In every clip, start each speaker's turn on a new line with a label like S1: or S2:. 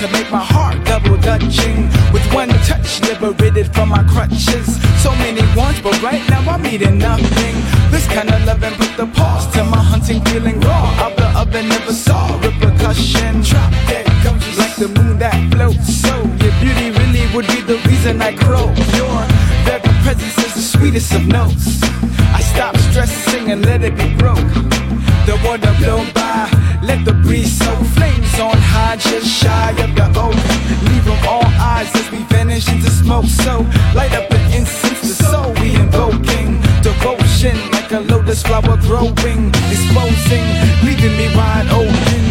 S1: to make my heart double dutching. With one touch, liberated from my crutches. So many wants, but right now I'm eating nothing. This kind of loving put the pause to my hunting, feeling raw. Out the oven, never saw repercussion. Drop dead gums like the moon that floats. So your beauty really would be the reason I grow. Your very presence is the sweetest of notes. I stop stressing and let it be broke. The water blow by, let the breeze soak. Flames on high, just shy of the oak. Leave them all eyes as we vanish into smoke. So light up the incense, the soul we invoking. Devotion like a lotus flower growing, exposing, leaving me wide open.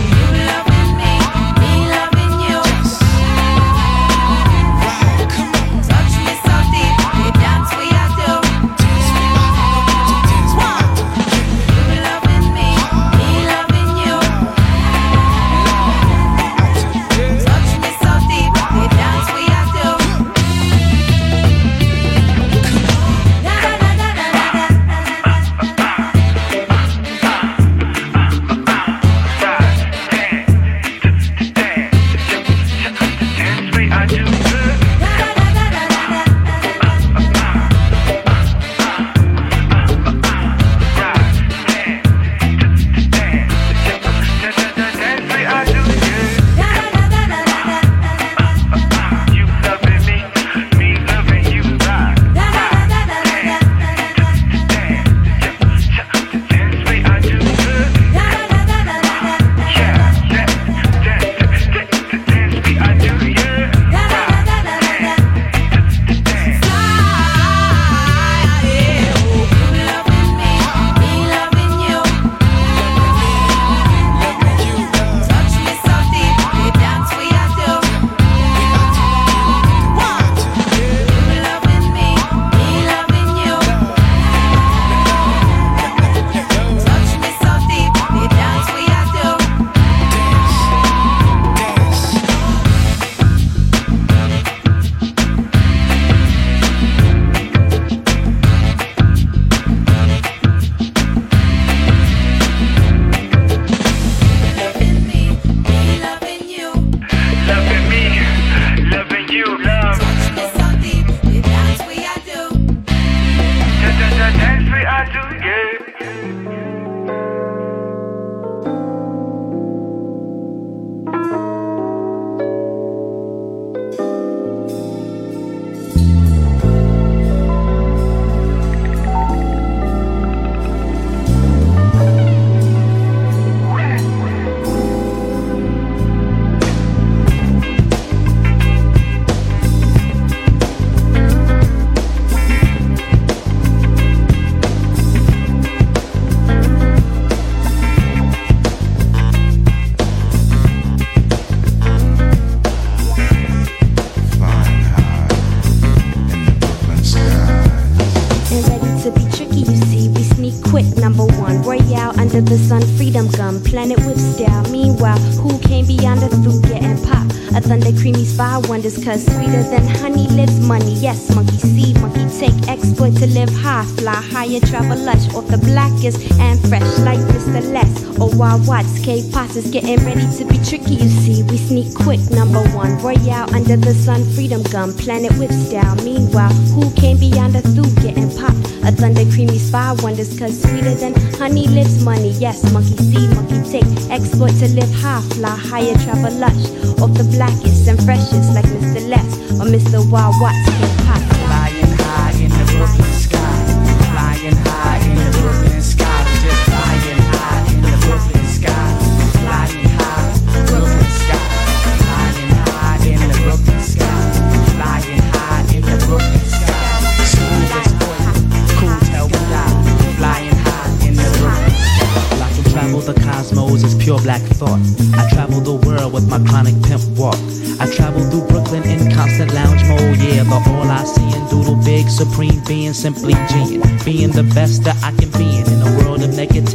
S2: Under the sun, freedom gum, planet with style. Meanwhile, who came beyond the through getting pop? A thunder creamy spy wonders, cause sweeter than honey lives money. Yes, monkey see, monkey take, exploit to live high, fly higher, travel lush, off the blackest and fresh like Mr. Les or Wild Watts. K-Pots is getting ready to be tricky, you see. We sneak quick, number one, Royale under the sun, freedom gum, planet with style. Meanwhile, who came beyond the through getting pop? A thunder creamy spy wonders, cause sweeter than honey lives money. Yes, monkey see, monkey take, exploit to live high, fly higher, travel lush, off the blackest and freshest like Mr. Les or Mr. Wild Watts. K-Pop.
S1: Flying high in the Brooklyn sky, flying high in the Brooklyn sky, just flying high in the Brooklyn sky, flying high, Brooklyn sky, flying high in the Brooklyn sky, flying high in the Brooklyn sky. Smooth as oil, cool till we die, flying high in the Brooklyn sky.
S3: I can travel the cosmos as pure black thought. I travel the world with my chronic pimp walk. I travel through Brooklyn in constant lounge mode. Yeah, the all I see and doodle big, supreme being, simply G'ing. Being the best that I can be in a world of negativity.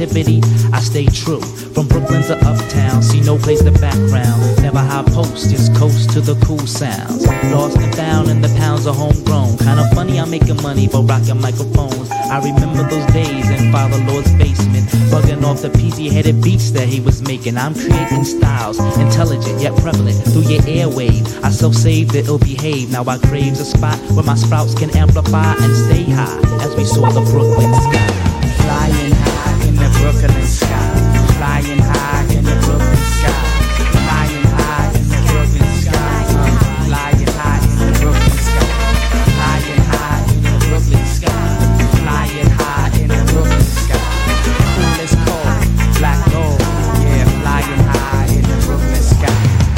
S3: negativity, I stay true. From Brooklyn to uptown, see no place to background. Never high post, just coast to the cool sounds. Lost and found in the pounds of homegrown. Kinda funny I'm making money for rocking microphones. I remember those days in Father Lord's basement, bugging off the peasy-headed beats that he was making. I'm creating styles, intelligent yet prevalent through your airwave. I self-save the ill behave. Now I craves a spot where my sprouts can amplify and stay high as we soar the Brooklyn sky.
S1: Flying high in the Brooklyn sky. Flying high in the Brooklyn sky. Flying high in the Brooklyn sky. Flying high in the Brooklyn sky. Flying high in the Brooklyn sky. Flying high in the Brooklyn sky. Cool as cold, black gold. Yeah, flying high in the Brooklyn sky.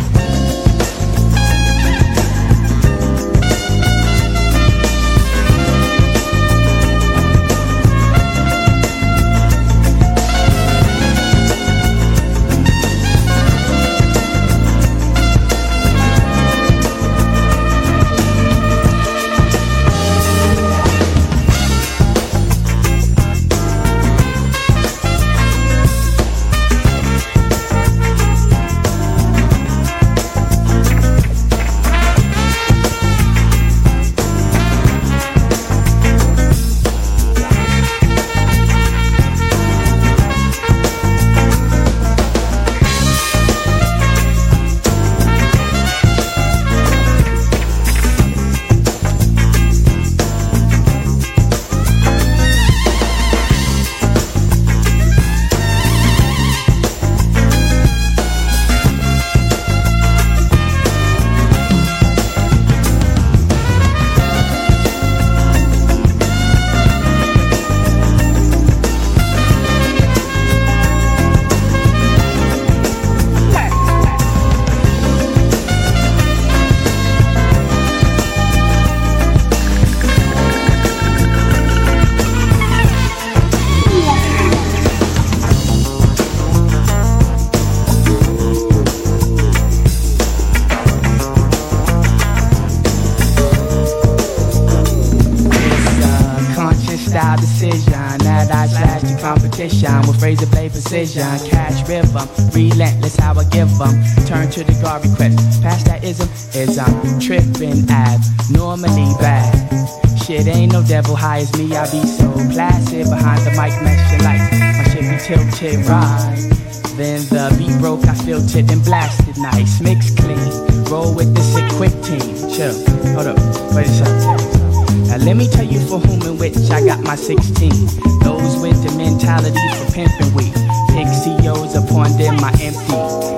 S1: With razor blade precision, catch rhythm, relentless how I give them. Turn to the guard request, past that ism tripping abnormally bad. Shit ain't no devil high as me, I be so placid behind the mic meshing lights. My shit be tilted right. Then the beat broke, I filtered and blasted nice, mix clean. Roll with the sick quick team. Chill, hold up, wait a second. Now let me tell you for whom and which I got my 16. Those with the mentality for pimping weed. Pick COs upon them my empty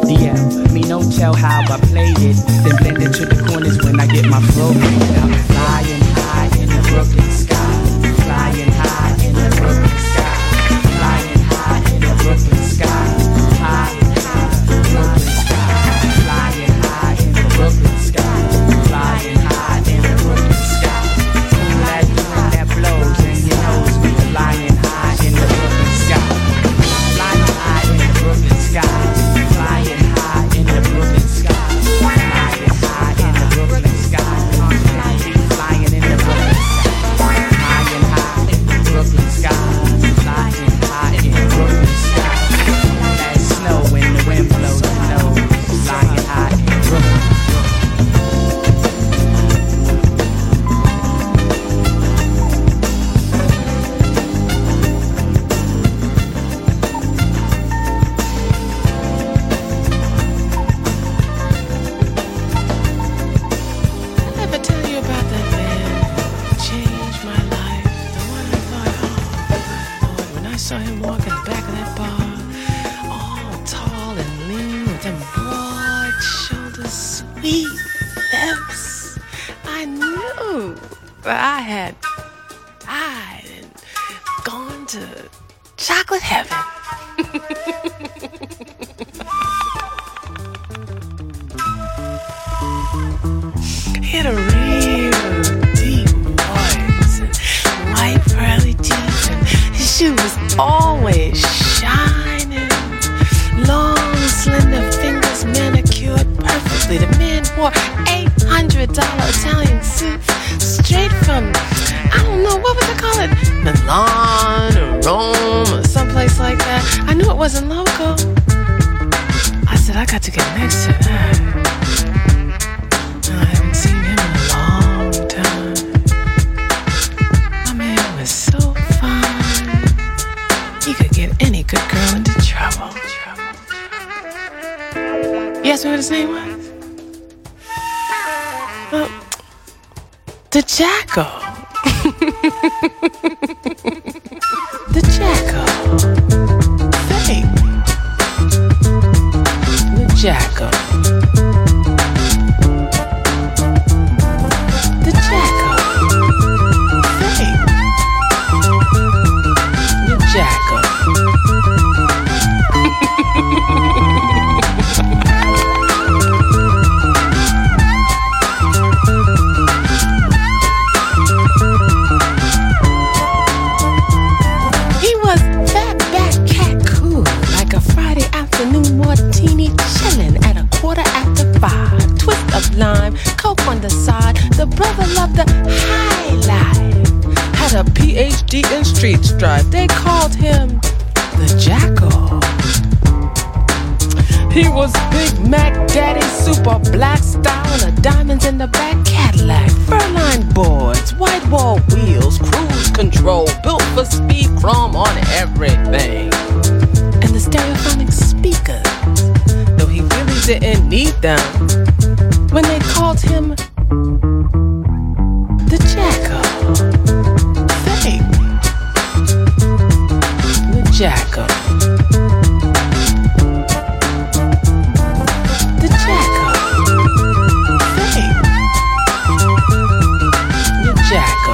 S1: DM. Me no tell how I played it. Then blend it to the corners when I get my flow. I'm flying high in the Brooklyn sky. Flying high in the Brooklyn sky. Flying high in the Brooklyn sky. High in the Brooklyn sky. Flying high in the Brooklyn sky. Flying high in the Brooklyn sky. That blows and you know we flying high in the Brooklyn sky. Flying high in the Brooklyn sky. Flying high in the Brooklyn sky. Flying high in the Brooklyn sky. Flying in the Brooklyn sky. Flying high in the Brooklyn sky. Flying high in the Brooklyn sky. That snow when the wind blows, you know. Flying high in the Brooklyn.
S4: But I had gone to chocolate heaven. He had a real deep voice and white pearly teeth, and his shoe was always shining. Long, slender fingers manicured perfectly. The man wore $800 Italian suits straight from, I don't know, what would they call it? Milan or Rome or someplace like that. I knew it wasn't local. I said, I got to get next to that. I haven't seen him in a long time. My man was so fine. He could get any good girl into trouble. You asked me what his name was? Well, the Jackal. The Jackal. Say, the Jackal. The Jackal. Say, the Jackal. Lime, coke on the side. The brother loved the high life. Had a PhD in street strife. They called him the Jackal. He was Big Mac Daddy, super black style, and a diamonds in the back Cadillac. Furline boards, white wall wheels, cruise control, built for speed, chrome on everything. And the stereophonic speakers, though he really didn't need them. When they called him the Jackal. Say, the Jackal. The Jackal. Say, the Jackal.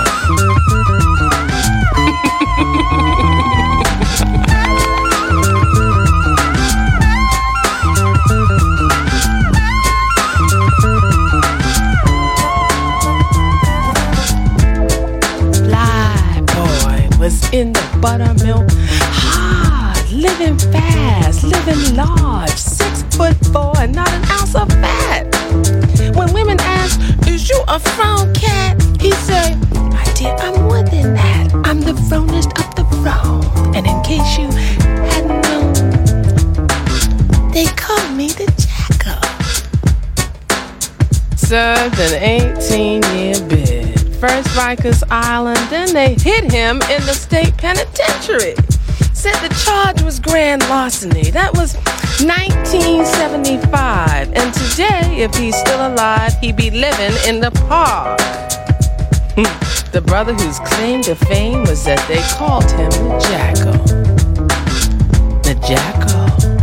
S4: In the buttermilk, hard, living fast, living large, 6'4" and not an ounce of fat. When women ask, is you a frown cat? He say, my dear, I'm more than that. I'm the fronest of the frown. And in case you hadn't known, they call me the Jackal. Served an 18-year bid. First Rikers Island, then they hit him in the state penitentiary. Said the charge was grand larceny. That was 1975. And today, if he's still alive, he'd be living in the park. The brother whose claim to fame was that they called him the Jackal. The Jackal.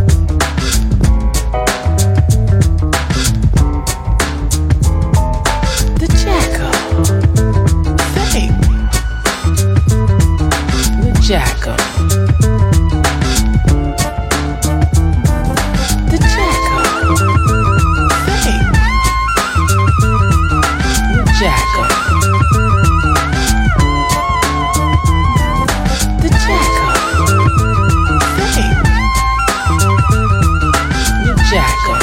S4: The Jackal. Jackal. The Jackal. Say, the Jackal. The Jackal. Say, the Jackal.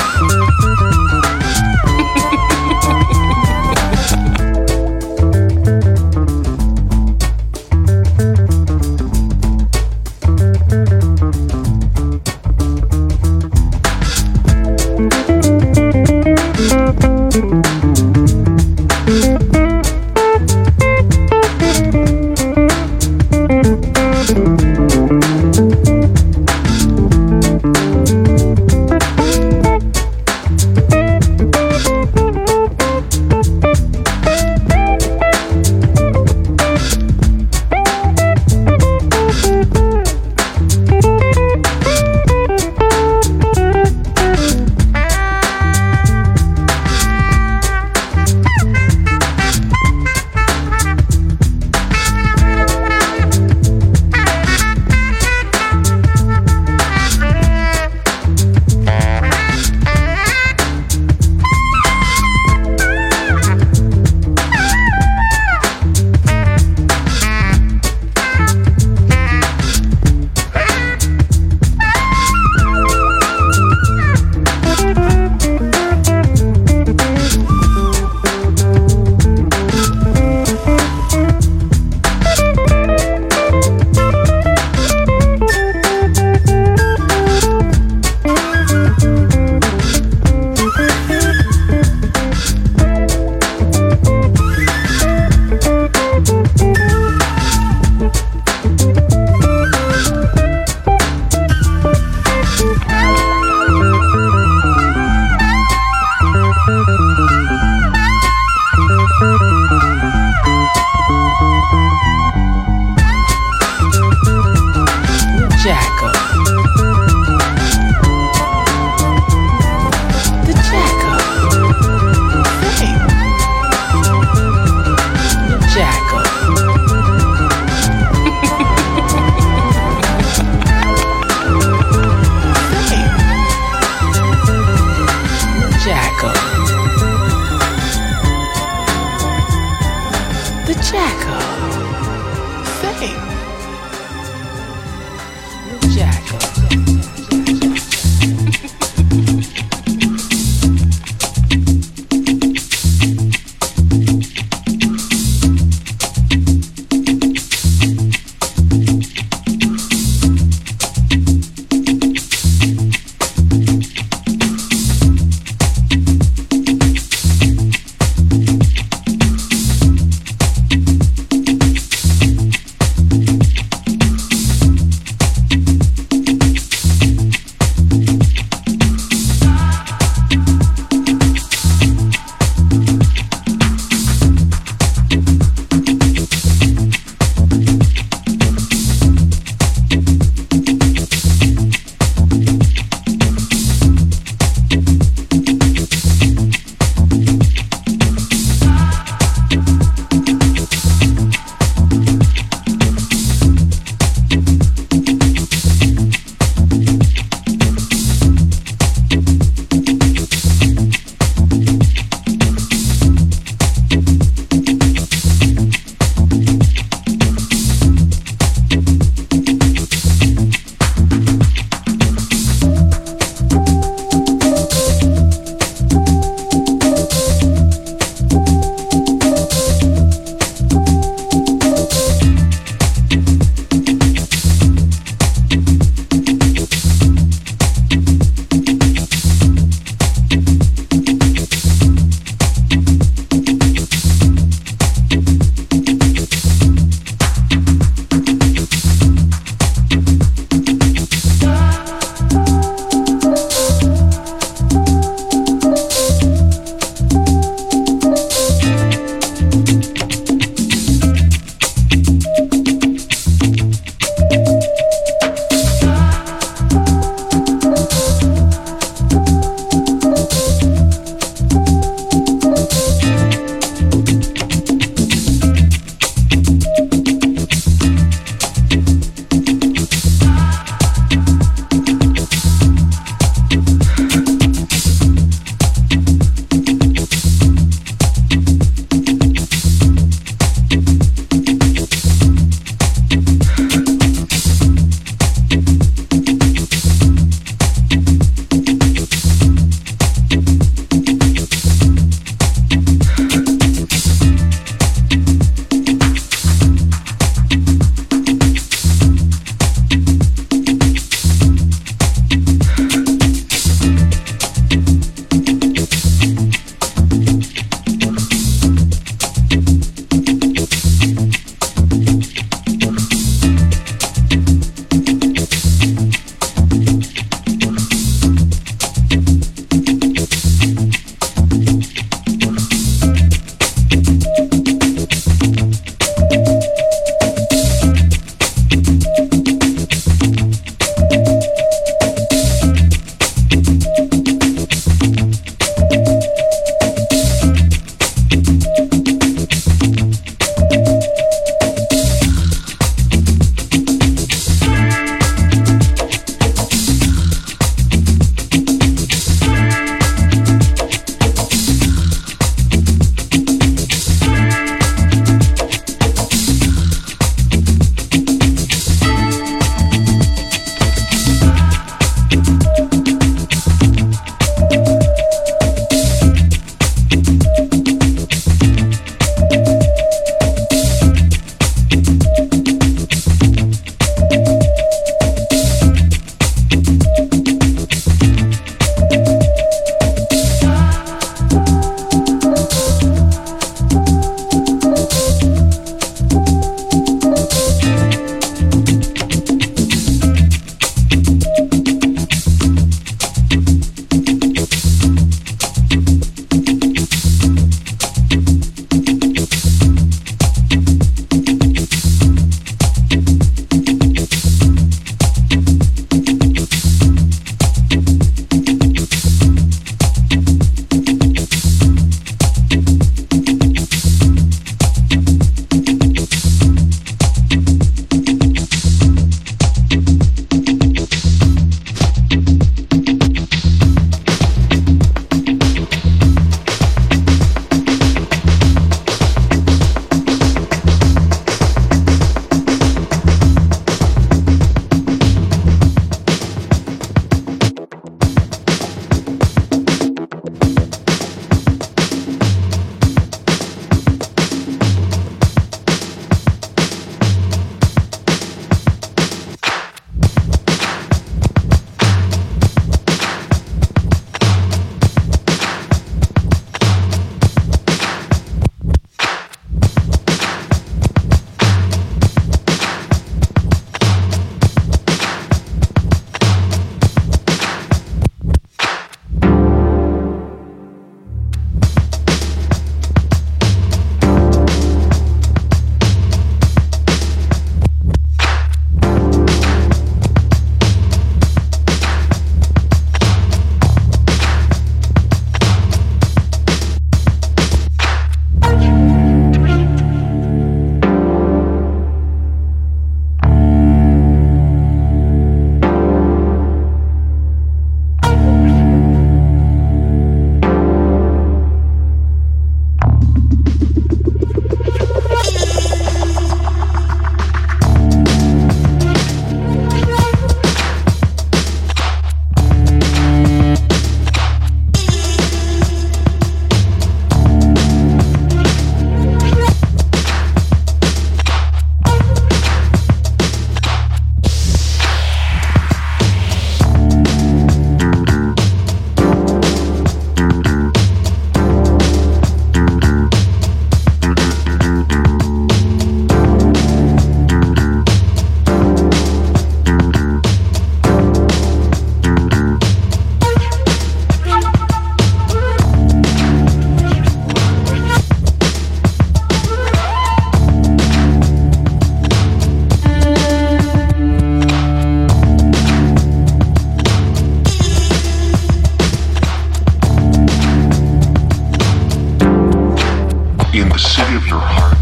S5: In the city of your heart.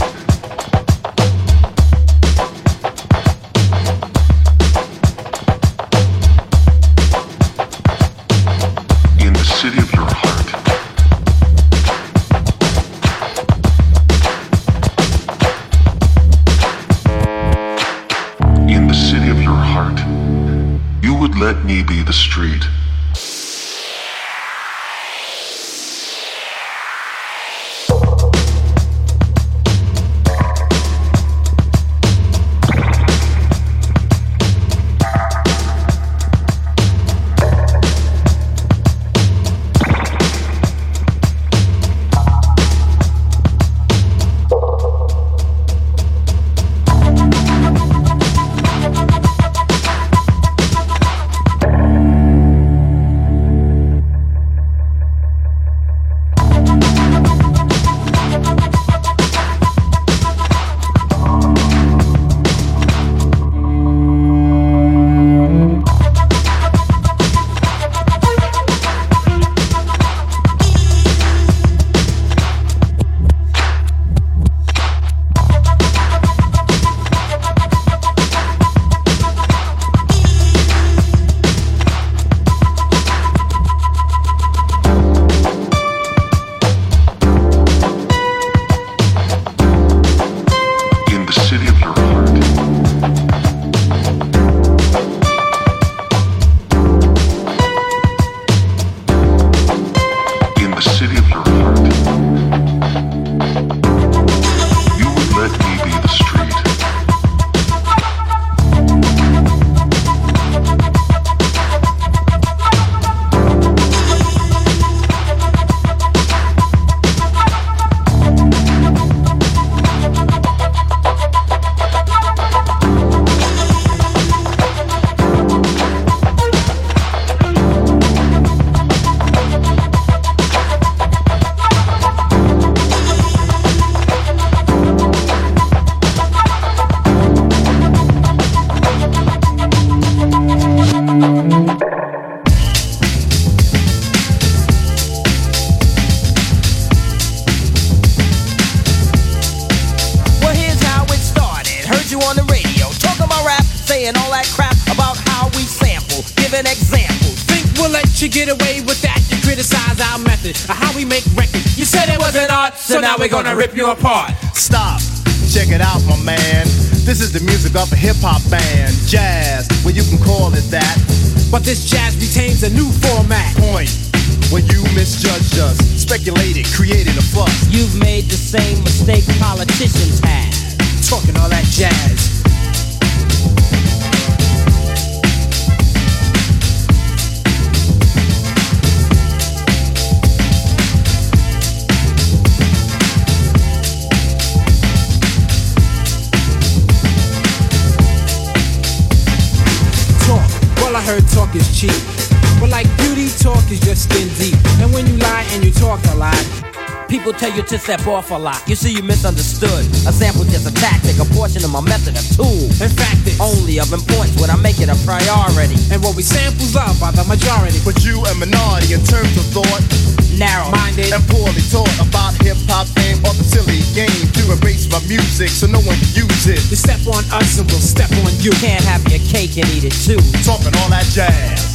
S5: In the city of your heart. In the city of your heart. You would let me be the street.
S6: Get away with that, you criticize our method of how we make records. You said it wasn't art, so now we're gonna rip you apart.
S7: Stop, check it out, my man. This is the music of a hip-hop band. Jazz, well you can call it that.
S6: But this jazz retains a new format.
S7: Point, when you misjudged us, speculated, created a fuss.
S8: You've made the same mistake politicians have.
S6: Talking all that jazz. I heard talk is cheap, but like beauty, talk is just skin deep. And when you lie and you talk a lot,
S8: people tell you to step off a lot. You see, you misunderstood. A sample just a tactic, a portion of my method, a tool.
S6: In fact, it's
S8: only of importance when I make it a priority.
S6: And what we samples love by the majority.
S7: But you a minority in terms of thought,
S6: narrow-minded
S7: and poorly taught about hip-hop fame or the silly game to erase my music so no one can use it.
S6: You step on us and we'll step on you.
S8: Can't have your cake and eat it too.
S7: Talking all that jazz.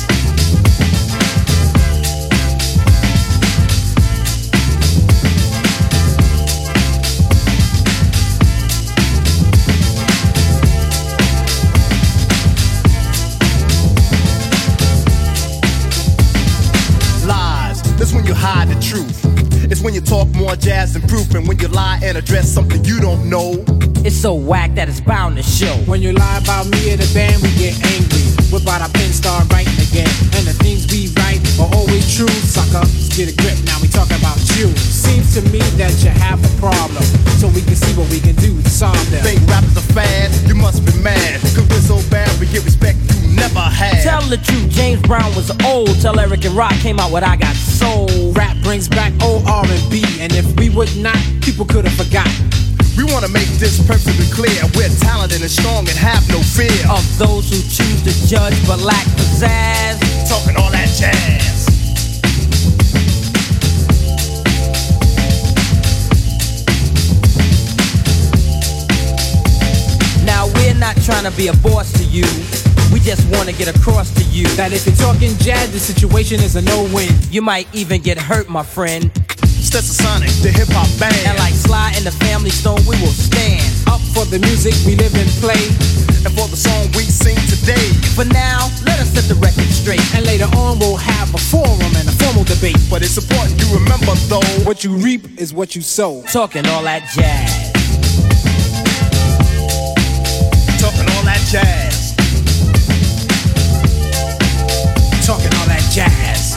S7: That's when you hide the truth. It's when you talk more jazz than proof. And when you lie and address something you don't know.
S8: It's so whack that it's bound to show.
S6: When you lie about me or the band, we get angry. Whip out our pen, start writing again. And the things we write are always true. Sucker, let's get a grip, now we talking about you. Seems to me that you have a problem, so we can see what we can do to solve them.
S7: Think rap is a fad? You must be mad. Cause we're so bad, we get respect you never had.
S8: Tell the truth, James Brown was old. Tell Eric and Rock came out with I Got Soul.
S6: Rap brings back old R&B, and if we would not, people could have forgotten.
S7: We want to make this perfectly clear. We're talented and strong and have no fear
S8: of those who choose to judge but lack pizzazz.
S7: Talking all that jazz.
S8: trying to be a boss to you. We just want to get across to you
S6: that if you're talking jazz, the situation is a no-win.
S8: You might even get hurt, my friend.
S7: Stetsasonic, the hip-hop band.
S8: And like Sly and the Family Stone, we will stand
S6: up for the music we live and play,
S7: and for the song we sing today.
S8: For now, let us set the record straight,
S6: and later on we'll have a forum and a formal debate.
S7: But it's important you remember though,
S6: what you reap is what you sow.
S8: Talking all that jazz.
S7: Talking all that jazz.
S6: Talking all that jazz.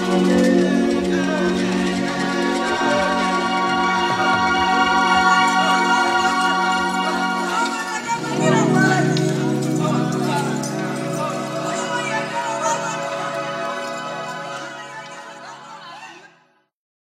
S1: Yeah.